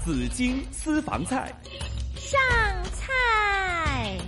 紫荆私房菜。 上菜。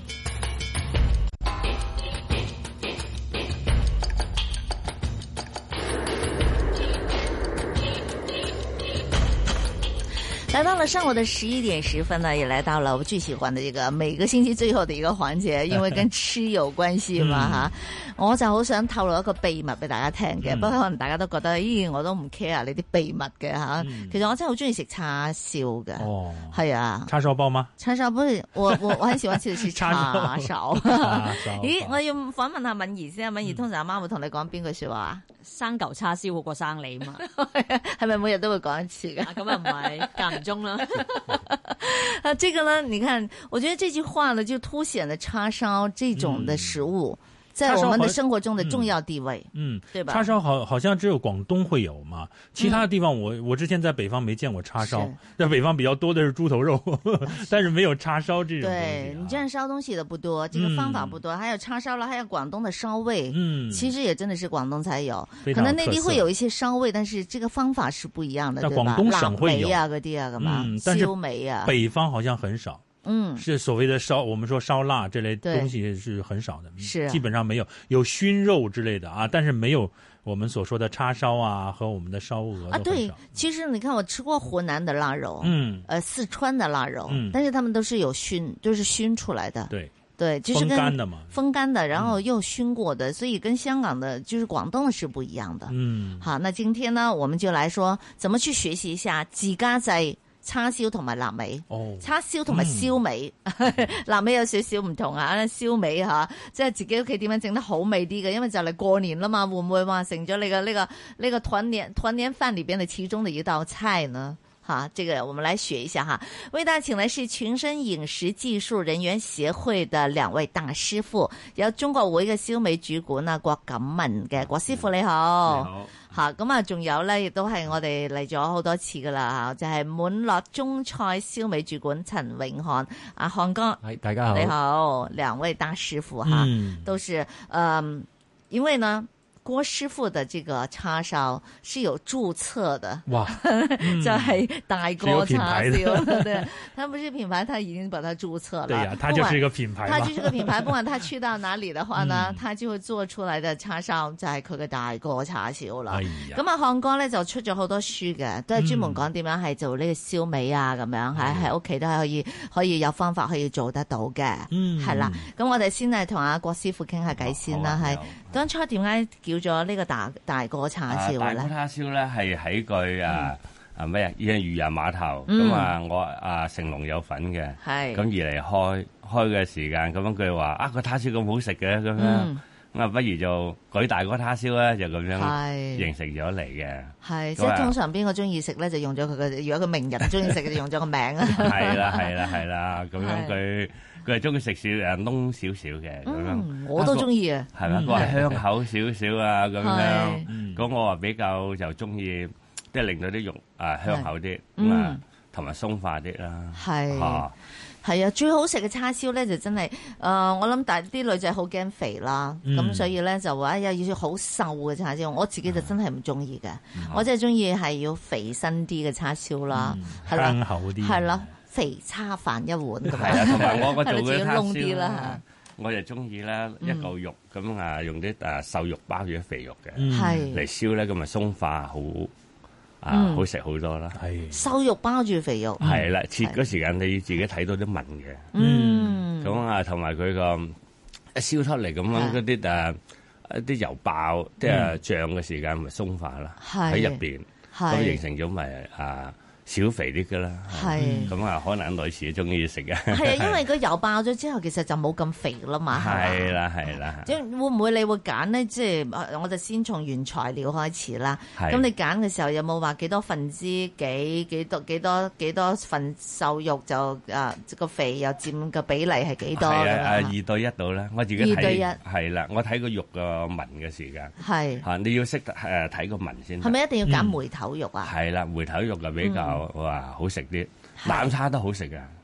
来到了上午的11點10分呢，也來到了我最喜歡的這個每個星期最後的一個環節，因為跟吃有關係嘛吓。我就好想透露一個秘密俾大家聽嘅，不過可能大家都覺得，咦，我都唔 care 你啲秘密嘅吓。其實我真係好中意食叉燒嘅。哦，係啊。 叉燒包嗎？ 叉燒不是，我很喜歡吃的是叉燒。咦，我要訪問下敏儀先啊，敏儀通常阿媽會同你講邊句說話啊？ 生嚿叉燒好過生你嘛？ 係咪每日都會講一次㗎？ 咁又唔係間唔中啦。 啊，這個呢，你看，我覺得這句話呢，就凸顯了叉燒這種的食物在我們的生活中的重要地位。對吧？ 叉燒好像只有廣東會有嘛，其他的地方我之前在北方沒見過叉燒，在北方比較多的是豬頭肉，但是沒有叉燒這種東西。 對，你這樣燒東西的不多，這個方法不多，還有叉燒啦，還有廣東的燒味，其實也真的是廣東才有，可能內地會有一些燒味，但是這個方法是不一樣的，對吧？ 廣東省會有啊，嗰啲啊，咁嘛，燒味啊， 北方好像很少。是所謂的燒，我們說燒臘這類東西是很少的，是基本上沒有，有燻肉之類的啊，但是沒有我們所說的叉燒啊和我們的燒鵝啊。 對，其實你看我吃過湖南的臘肉，四川的臘肉，但是他們都是有燻，就是燻出來的，對，就是跟風乾的嘛，風乾的，然後又燻過的，所以跟香港的，就是廣東的是不一樣的。好，那今天呢，我們就來說怎麼去學習一下自家製叉燒同埋臘味，叉燒同埋燒味，臘味有少少唔同啊，燒味吓，即係自己屋企點樣整得好味啲嘅，因為就嚟過年啦嘛，會唔會話成咗你嘅呢個團年飯裏邊的其中的一道菜呢？哈，這個我們來學一下哈。為大家請來是群生飲食技術人員協會的兩位大師傅，有中國會嘅燒味主管啊郭錦文嘅郭師傅，你好。你好。吓，咁啊，仲有咧，亦都係我哋嚟咗好多次噶啦吓，就係滿樂中菜燒味主管陳永漢，阿漢哥， 大家好， 你好，兩位大師傅哈，都是因為呢。郭師傅的這個叉燒是有註冊的，哇，就係大哥叉燒，對，他不是品牌，他已經把它註冊了。 對呀，他就是一個品牌。 他就是個品牌，不管他去到哪裡的話呢，他就會做出來的叉燒就係佢嘅大哥叉燒啦。咁啊，漢哥咧就出咗好多書嘅，都係專門講點樣係做呢個燒味啊，咁樣喺屋企都係可以有方法可以做得到嘅，係啦。咁我哋先係同阿郭師傅傾下偈先啦，係當初點解叫咗呢個大哥叉燒咧？ 大哥叉燒咧係喺句咩啊？漁人碼頭咁啊，我成龍有份嘅，咁而嚟開嘅時間，咁樣佢話個叉燒咁好食嘅咁樣，咁啊不如就舉大哥叉燒咧，就咁樣形成咗嚟嘅。 係即係通常邊個中意食咧，就用咗佢嘅；如果個名人中意食，就用咗個名啊。 係啦，咁樣佢係中意食少燶少少嘅咁樣， 我都中意啊。係咪？佢話香口少少啊咁樣，咁我話比較就中意，即係令到啲肉香口啲，同埋鬆化啲啦。係啊，最好食嘅叉燒咧就真係，我諗但係啲女仔好驚肥啦，咁所以咧就話要好瘦嘅叉燒，我自己就真係唔中意嘅，我真係中意係要肥身啲嘅叉燒啦， 香口啲， 係啦。肥叉飯一碗咁啊，同埋我做嘅叉燒啦， 我就中意咧一嚿肉咁啊，用啲瘦肉包住啲肥肉嘅，嚟燒咧咁咪鬆化好食好多啦。 係瘦肉包住肥肉， 係啦，切嗰時間你自己睇到啲紋嘅，咁啊同埋佢個一燒出嚟咁樣嗰啲一啲油爆即係醬嘅時間咪鬆化啦，喺入邊咁形成咗咪少肥啲噶啦，咁啊可能女士中意食嘅。 係啊，因為個油爆咗之後，其實就冇咁肥啦嘛。 係啦。 即係會唔會你會揀呢？即係我就先從原材料開始啦。咁你揀嘅時候有冇話幾多分之幾多份瘦肉就個肥又佔個比例係幾多？ 係啊，2對1度啦。我自己睇2對1係啦，我睇個肉個紋嘅時間係嚇，你要識睇個紋先。 係咪一定要揀梅頭肉啊？ 係啦，梅頭肉就比較。哇，好食啲，冷叉都好食噶。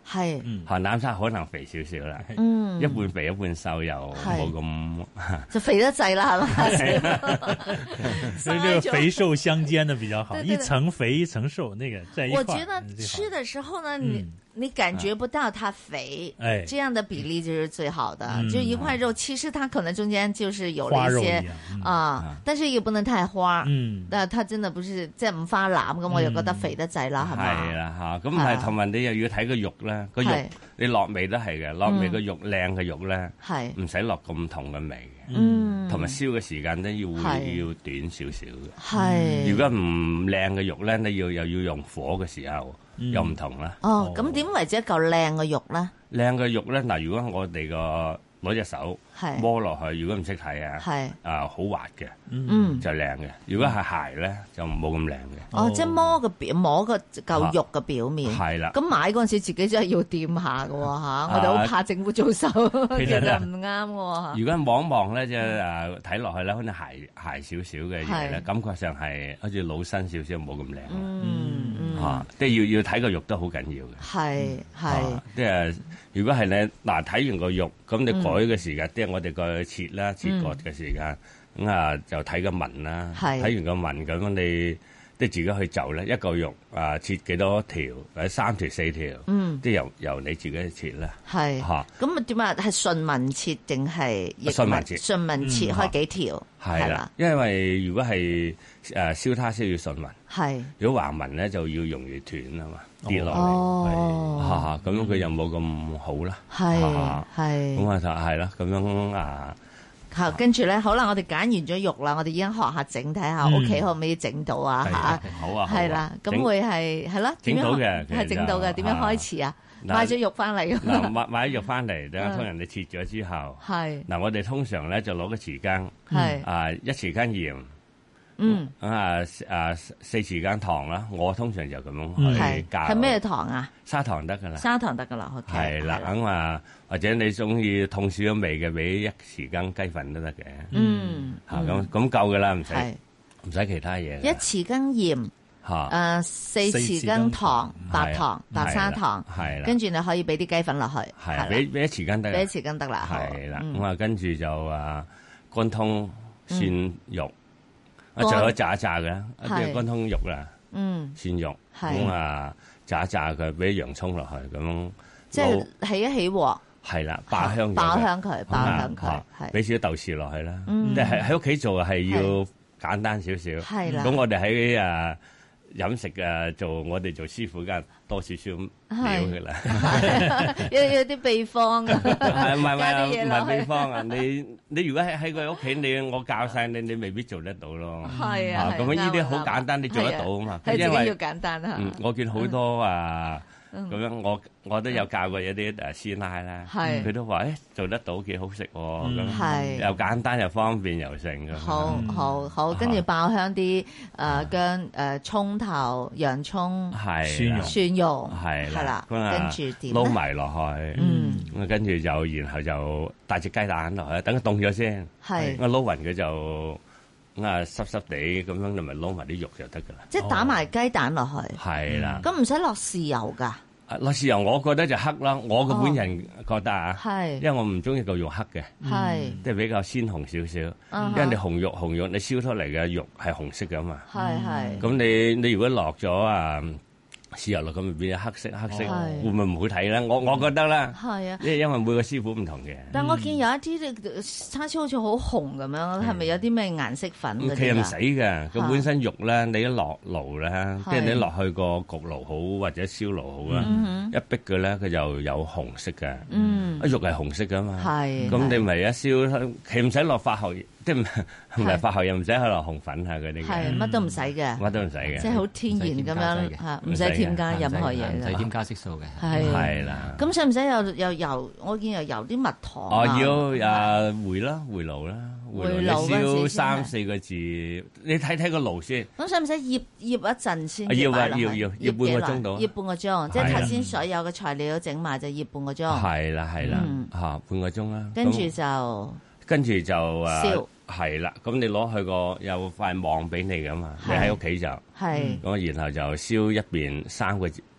係鹹蛋沙可能肥少少啦，一半肥一半瘦又冇咁就肥得滯啦，係嘛？ 所以這個肥瘦相間的比較好，一層肥一層瘦，那個在一塊。 我覺得吃的時候呢，你感覺不到它肥，這樣的比例就是最好的。就一塊肉，其實它可能中間就是有了一些啊，但是又不能太花。但它真的不是即係五花腩咁，我又覺得肥得滯啦，係嘛？ 係啦嚇，咁係同埋你又要睇個肉咧，個肉你落味都係嘅，落味個肉靚嘅肉咧，唔使落咁重嘅味嘅，同埋燒嘅時間都要短少少嘅。係，如果唔靚嘅肉咧，你又要用火嘅時候。又唔同啦。 哦，咁點為之一嚿靚嘅肉咧？ 靚嘅肉咧，嗱，如果我哋攞隻手摸落去，如果唔識睇啊，好滑嘅，就靚嘅。如果係鞋咧，就冇咁靚嘅。 哦，即係摸個嚿肉嘅表面。係啦。咁買嗰陣時，自己真係要掂下㗎喎嚇，我哋好怕政府做手，其實唔啱喎。如果望一望咧，即係睇落去咧，好似鞋少少嘅嘢咧，感覺上係好似老身少少，冇咁靚。即係要睇個肉都好緊要嘅。係。即係如果係你嗱睇完個肉，咁你改嘅時間，即係我哋個切割嘅時間，咁就睇個紋啦。睇完個紋咁，你即係自己去就咧，一嚿肉切幾多條，或者3條4條，即係由你自己去切啦。係嚇。咁點啊？係順紋切定係逆紋？順紋切。順紋切開幾條？係啦。因為如果係燒叉燒要順紋。係。如果橫紋咧，就要容易斷啊嘛，跌落嚟。咁佢又冇咁好啦。係。咁就係啦，咁樣啊。 好，跟住咧，好啦，我哋揀完咗肉啦，我哋已經學下整，睇下屋企可唔可以整到啊？嚇， 好啊， 係啦，咁會係啦， 整到嘅， 係整到嘅，點樣開始啊？買咗肉翻嚟。 嗱，買咗肉翻嚟，等下通人哋切咗之後，嗱，我哋通常咧就攞個匙羹，一匙羹鹽。4匙羹糖啦，我通常就咁樣去加。 係咩糖啊？ 砂糖得噶啦。 砂糖得噶啦， 係啦，咁或者你中意痛少咗味嘅，俾1匙羹雞粉都得嘅。咁夠噶啦，唔使其他嘢。 1匙羹鹽，4匙羹糖，白砂糖，係啦。跟住你可以俾啲雞粉落去， 係俾1匙羹得。 俾1匙羹得啦， 係啦。咁跟住就乾通蒜肉。仲有炸嘅，即係乾通肉啦，蒜肉，咁炸佢，俾洋葱落去，咁即係起一起鑊， 係啦，爆香佢，俾少豆豉落去啦，即係喺屋企做係要簡單少少，係啦。咁我哋喺飲食做，我哋做師傅梗係多少少料嘅啦， 有啲秘方啊， 唔係秘方啊！你如果喺佢屋企，我教晒你，你未必做得到咯。 係啊， 咁呢啲好簡單，你做得到啊嘛。 係自己要簡單啊。 我見好多咁樣我都有教過一啲師奶啦，佢都話做得到幾好食喎，咁又簡單又方便又成嘅。 好，跟住爆香啲薑葱頭、洋葱、蒜蓉係啦，跟住點撈埋落去，咁跟住然後就帶隻雞蛋落去，等佢凍咗先，我撈勻佢就濕濕地咁樣，你咪撈埋啲肉就得噶啦。 即係打埋雞蛋落去， 係啦。 咁唔使落豉油㗎。 落豉油我覺得就黑啦，我個本人覺得因為我唔中意個肉黑嘅，即係比較鮮紅少少。因為你紅肉你燒出嚟嘅肉係紅色㗎嘛。咁你如果落咗豉油落咁咪變咗黑色，會唔會唔好睇咧？我覺得啦，因為每個師傅唔同嘅。 但我見有一啲叉燒好似好紅咁樣，係咪有啲咩顏色粉嗰啲啊？ 其實唔使嘅，佢本身肉咧，你一落爐咧，即係你落去個焗爐好或者燒爐好啦，一逼佢咧，佢就有紅色嘅。肉係紅色噶嘛，咁你咪一燒，其實唔使落化學，即係唔係化學又唔使去落紅粉啊嗰啲嘅。 係乜都唔使嘅， 乜都唔使嘅， 即係好天然咁樣嚇，唔使添加任何嘢嘅， 唔使添加色素嘅。 係啦。 咁使唔使又油？我見又油啲蜜糖。 要回爐啦，回爐燒3-4個字，你睇個爐先。 咁使唔使醃一陣先？ 要半個鐘到。 醃半個鐘，即係頭先所有嘅材料整埋就醃半個鐘。 係啦，半個鐘啦。 跟住就燒。係啦，咁你攞去有塊網俾你噶嘛？你喺屋企就咁，然後就燒一邊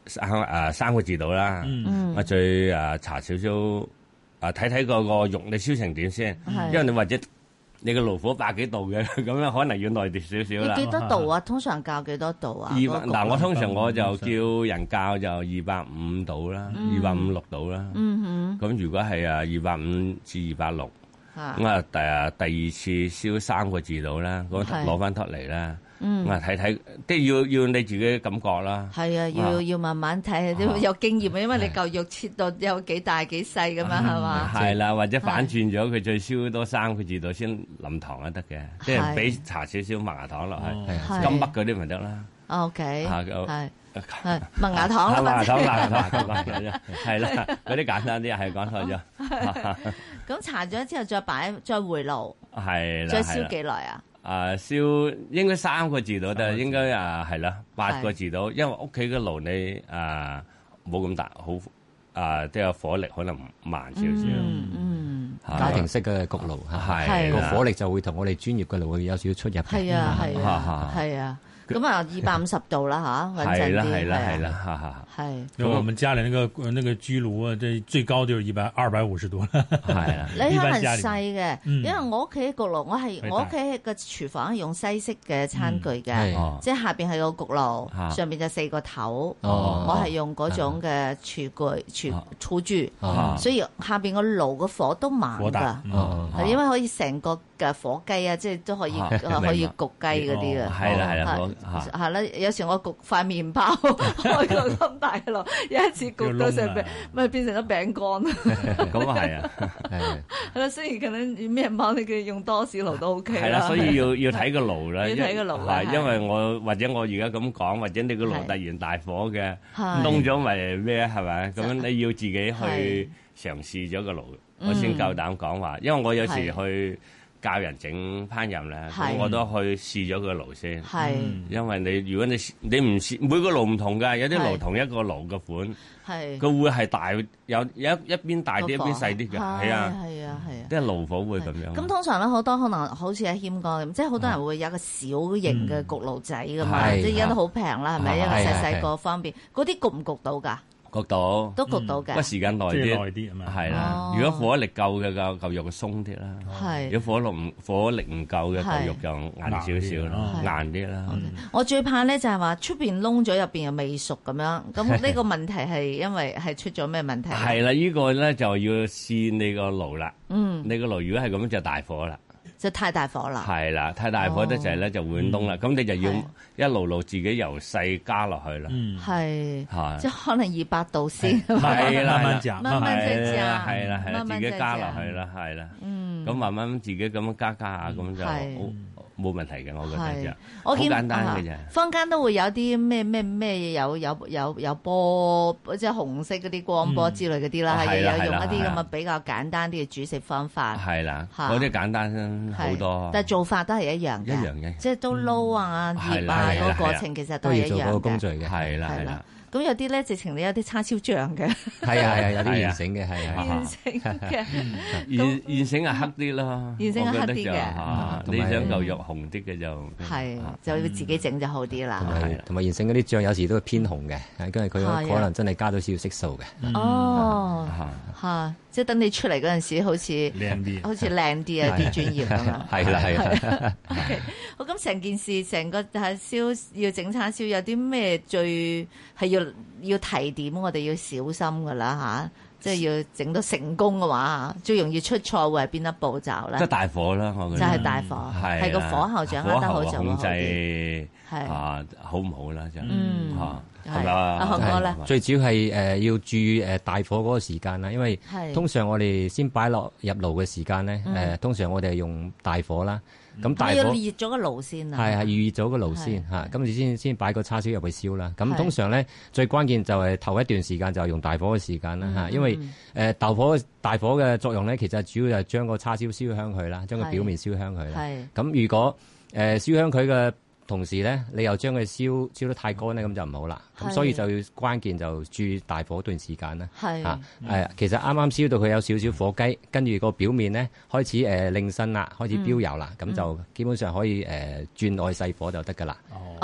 3個字度啦。我再搽少少睇睇個肉你燒成點先，因為你或者你個爐火100幾度嘅，咁樣可能要耐啲少少啦。 要幾多度啊？通常較幾多度啊？ 嗱，我通常我就叫人較就250度啦，250-260度啦。咁如果係250至260，咁第二次燒3個字度啦，咁攞翻出嚟啦。睇睇，即係要你自己感覺啦。 係啊，要慢慢睇，有經驗啊，因為你嚿肉切到有幾大幾細咁樣係嘛？ 係啦，或者反轉咗佢再燒多3個字度先淋糖都得嘅，即係俾搽少少麥芽糖落去，金麥嗰啲咪得啦。 OK，係麥芽糖啦， 麥芽糖，係啦，嗰啲簡單啲，係講錯咗。 咁搽咗之後再回爐， 係啦， 再燒幾耐啊？ 燒應該3個字到，但係應該係啦8個字到，因為屋企嘅爐你冇咁大，好即係火力可能慢少少。 家庭式嘅焗爐係個火力就會同我哋專業嘅爐會有少少出入。 係啊。咁250度啦嚇，穩陣啲。 係啦， 係。 因為我們家裏那個居爐啊，這最高就是250度。 係啊， 你可能細嘅，因為我屋企焗爐，我屋企個廚房係用西式嘅餐具嘅，即係下邊係個焗爐，上邊就4個頭。我係用嗰種嘅廚具，所以下邊個爐個火都慢㗎，係因為可以成個嘅火雞啊，即係都可以焗雞嗰啲嘅。係啦。 係啦，有時我焗塊麵包開個咁大爐，有一次焗到成餅，咪變成咗餅乾。 咁啊係啊， 係啦，雖然可能麵包你嘅用多士爐都 OK 啦。 係啦，所以要睇個爐啦， 要睇個爐啦。 因為我而家咁講，或者你個爐突然大火嘅，燶咗咪咩係咪？咁你要自己去嘗試咗個爐，我先夠膽講話。因為我有時去教人整烹飪咧，咁我都去試咗個爐先。係，因為如果你唔試，每個爐唔同㗎，有啲爐同一個爐嘅款，係佢會係大，有一邊大啲，一邊細啲嘅。係啊，即係爐火會咁樣。咁通常咧，好多可能好似喺謙哥咁，即係好多人會有一個小型嘅焗爐仔㗎嘛，即係而家都好平啦，係咪？因為細細個方便，嗰啲焗唔焗到㗎？ 焗到， 都焗到嘅， 不過時間耐啲啊嘛，係啦。如果火力夠嘅嚿肉就鬆啲啦，如果火力唔夠嘅嚿肉就硬少少啦，硬啲啦。 我最怕咧就係話出邊燶咗，入邊又未熟咁樣，咁呢個問題係因為係出咗咩問題？ 係啦，呢個咧就要試你個爐啦。你個爐如果係咁就大火啦。 就太大火啦， 係啦，太大火得滯咧就會燶啦，咁你就要一路自己由細加落去啦， 係，即係可能200度先， 係啦， 慢慢再加， 係啦，自己加落去啦，係啦，咁慢慢自己咁樣加下，咁就冇問題嘅，我覺得就好簡單嘅啫。 坊間都會有啲咩有波，即係紅色嗰啲光波之類嗰啲啦，係有用一啲咁嘅比較簡單啲嘅煮食方法。 係啦，嗰啲簡單好多。 但係做法都係一樣嘅，即係都撈啊、醃啊嗰個過程其實都係一樣嘅。 都要做嗰個工序嘅。 係啦。 咁有啲咧，直情你有啲叉燒醬嘅， 係啊，有啲現成嘅，係現成嘅， 現成係黑啲咯， 現成係黑啲嘅， 你想嚿肉紅啲嘅就要自己整就好啲啦。 同埋現成嗰啲醬有時都係偏紅嘅，因為佢可能真係加咗少少色素嘅。 哦，即係等你出嚟嗰陣時，好似靚啲啊啲專業咁樣。係啦。 OK， 好，咁成件事成個燒要整叉燒，有啲咩最係要提點，我哋要小心噶啦嚇，即係要整到成功嘅話，最容易出錯會係邊一步驟咧？ 即係大火啦，我覺得就係大火，係個火候掌握得好就好啲。 控制好唔好啦？就係咪啊？阿漢哥咧， 最主要係要注意大火嗰個時間啦，因為通常我哋先擺落入爐嘅時間咧，通常我哋係用大火啦。咁大火要熱咗個爐先啊！ 係預熱咗個爐先嚇，咁你先擺個叉燒入去燒啦。咁通常咧最關鍵就係頭一段時間就係用大火嘅時間啦嚇，因為大火嘅作用咧，其實主要就係將個叉燒燒香佢啦，將個表面燒香佢啦。咁如果燒香佢嘅同時咧，你又將佢燒得太乾咧，咁就唔好啦。咁所以就要關鍵就注意大火段時間啦。其實啱啱燒到佢有少少火雞，跟住個表面咧開始擰身啦，開始飆油啦，咁就基本上可以轉愛細火就得㗎啦。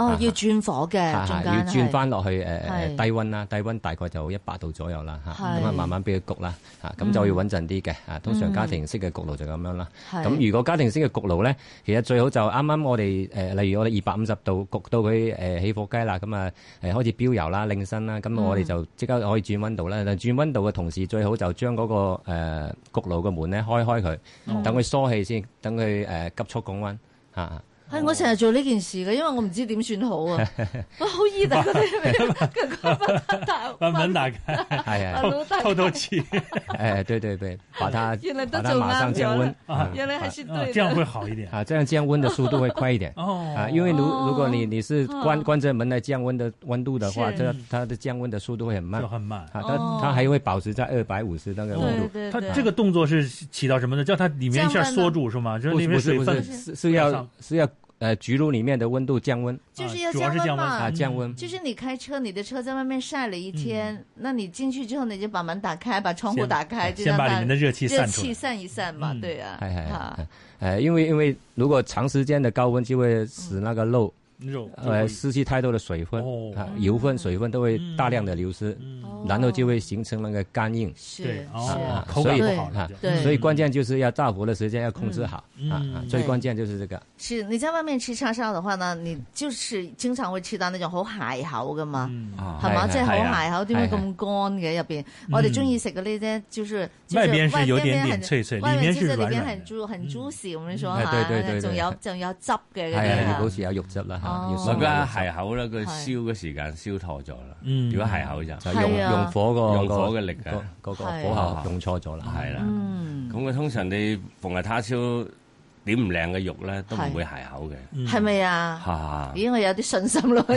哦，要轉火嘅，中間要轉翻落去低溫啦，低溫大概就100度左右啦嚇，咁啊慢慢俾佢焗啦嚇，咁就要穩陣啲嘅嚇。通常家庭式嘅焗爐就咁樣啦。咁如果家庭式嘅焗爐咧，其實最好就啱啱我哋例如我哋250度焗到佢起火雞啦，咁啊開始飆油啦、擰身啦，咁我哋就即刻可以轉溫度啦。但轉溫度嘅同時，最好就將嗰個焗爐嘅門咧開佢，等佢疏氣先，等佢急速降溫嚇。 係我成日做呢件事嘅，因為我唔知點算好啊！我好易打嗰啲慢慢打開，係偷氣。 對，把它馬上降溫， 原來還是對的， 這樣會好一點啊，這樣降溫的速度會快一點啊，因為如果你是關着門來降溫的溫度的話，它的降溫的速度會很慢，啊，它還會保持在250那個溫度。 它這個動作是起到什麼呢？叫它裡面一下縮住是嗎？就是裡面水分是要焗爐裡面的溫度降溫， 就是要降溫嘛， 降溫。 就是你開車，你的車在外面曬了一天，那你進去之後，你就把門打開，把窗戶打開， 先把裡面的熱氣散一散嘛，對啊。 因為如果長時間的高溫就會使那個肉失去太多的水分，油分、水分都會大量的流失，然後就會形成那個乾硬。 是， 所以關鍵就是要炸火的時間要控制好，最關鍵就是這個。 是，你在外面吃叉燒的話呢，你就是經常會吃到那種好鞋口噶嘛，係嘛？即係好鞋口，點解咁乾嘅入邊？我哋中意食嘅呢啲，就是外邊是有點點脆脆，裡面是軟軟， 很 juicy 咁樣說嚇， 仲有汁嘅嗰啲， 係好似有肉汁啦。 我覺得鞋口咧，佢燒嘅時間燒錯咗啦。如果鞋口就用火嘅力嘅嗰個火候用錯咗啦，係啦。 咁佢通常你逢係叉燒點唔靚嘅肉咧，都唔會鞋口嘅。 係咪啊？咦，我有啲信心咯。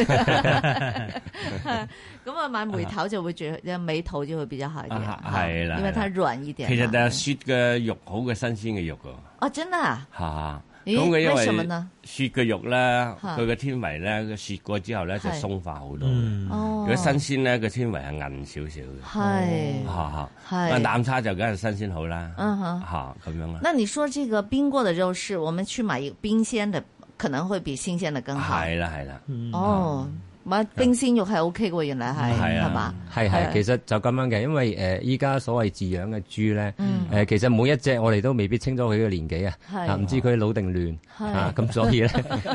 咁啊，買梅頭就會最，梅頭就會比較好一點。 係啦， 因為它軟一點。 其實就雪嘅肉好過新鮮嘅肉㗎。 哦，真啊？ 嚇！ 咁佢因為雪嘅肉咧，佢嘅纖維咧，佢雪過之後咧就鬆化好多。如果新鮮咧，個纖維係韌少少嘅。係，南叉就梗係新鮮好啦。咁樣啦。 那你說這個冰過的肉是，我們去買一個冰鮮的，可能會比新鮮的更好。 係啦。 哦。買冰鮮肉係 O K 嘅喎，原來係嘛？ 係，其實就咁樣嘅，因為依家所謂飼養嘅豬咧，其實每一隻我哋都未必清楚佢嘅年紀啊，唔知佢老定亂啊，咁所以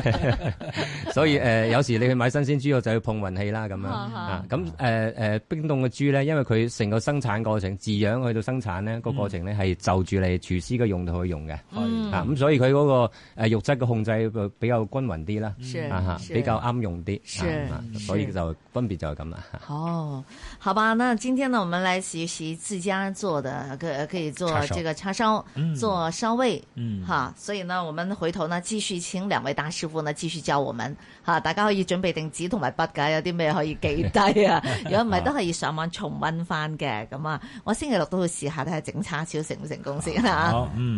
咧，有時你去買新鮮豬肉就要碰運氣啦咁樣啊，咁冰凍嘅豬咧，因為佢成個生產過程飼養去到生產咧個過程咧係就住你廚師嘅用途去用嘅，啊咁所以佢嗰個肉質嘅控制比較均勻啲啦，比較啱用啲。所以就分別就係咁啦。 哦，好吧，那今天呢，我們來學習自家做的，可以做這個叉燒，做燒味，所以呢，我們回頭呢繼續請兩位大師傅呢繼續教我們，大家可以準備定紙同埋筆㗎，有啲咩可以記低啊？如果唔係，都可以上網重溫翻嘅。咁啊，我星期六都會試下睇下整叉燒成唔成功先啦。